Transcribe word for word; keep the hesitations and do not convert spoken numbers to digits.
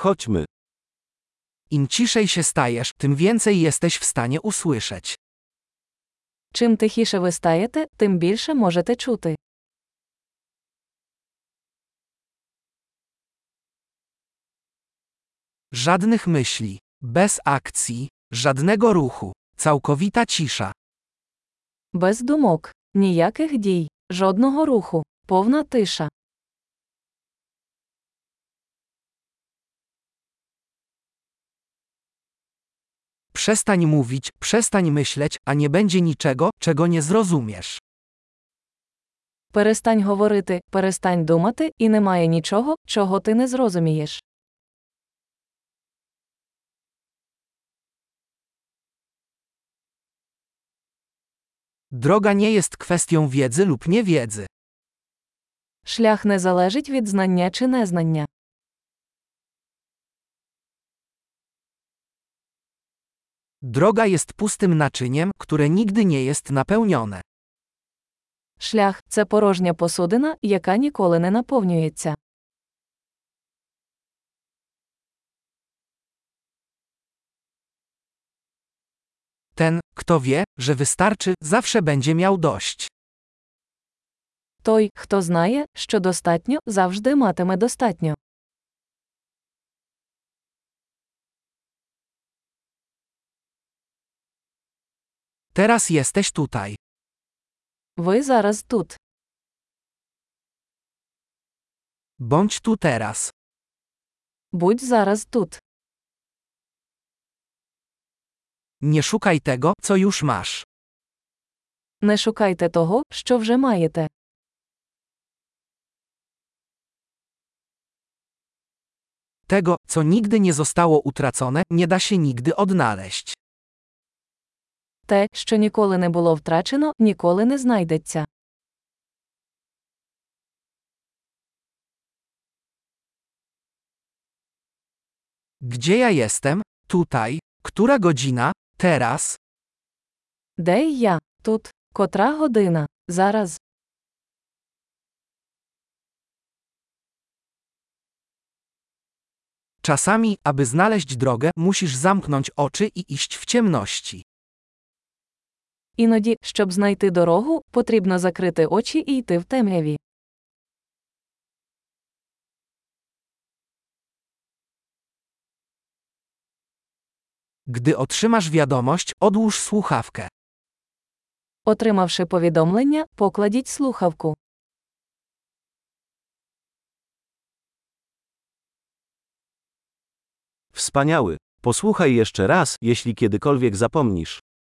Chodźmy. Im ciszej się stajesz, tym więcej jesteś w stanie usłyszeć. Чим тихіше ви стаєте, тим більше можете чути. Żadnych myśli, bez akcji, żadnego ruchu, całkowita cisza. Без думок, ніяких дій, жодного руху, повна тиша. Przestań mówić, przestań myśleć, a nie będzie niczego, czego nie zrozumiesz. Перестань говорити, перестань думати, і немає нічого, чого ти не зрозумієш. Droga nie jest kwestią wiedzy lub niewiedzy. Шлях не залежить від знання чи незнання. Droga jest pustym naczyniem, które nigdy nie jest napełnione. Шлях – це порожня посудина, яка ніколи не наповнюється. Ten, kto wie, że wystarczy, zawsze będzie miał dość. Той, хто знає, що достатньо, завжди матиме достатньо. Teraz jesteś tutaj. Ви зараз тут. Bądź tu teraz. Будь зараз тут. Nie szukaj tego, co już masz. Не шукайте того, що вже маєте. Tego, co nigdy nie zostało utracone, nie da się nigdy odnaleźć. Те, що ніколи не було втрачено, ніколи не знайдеться. Gdzie ja jestem? Tutaj. Która godzina? Teraz. Де я? Тут. Котра година? Зараз. Czasami, aby znaleźć drogę, musisz zamknąć oczy i iść w ciemności. Іноді, щоб знайти дорогу, потрібно закрити очі і йти в темряві. Gdy otrzymasz wiadomość, odłóż słuchawkę. Отримавши повідомлення, покладіть слухавку. Wspaniały. Posłuchaj jeszcze raz, jeśli kiedykolwiek zapomnisz.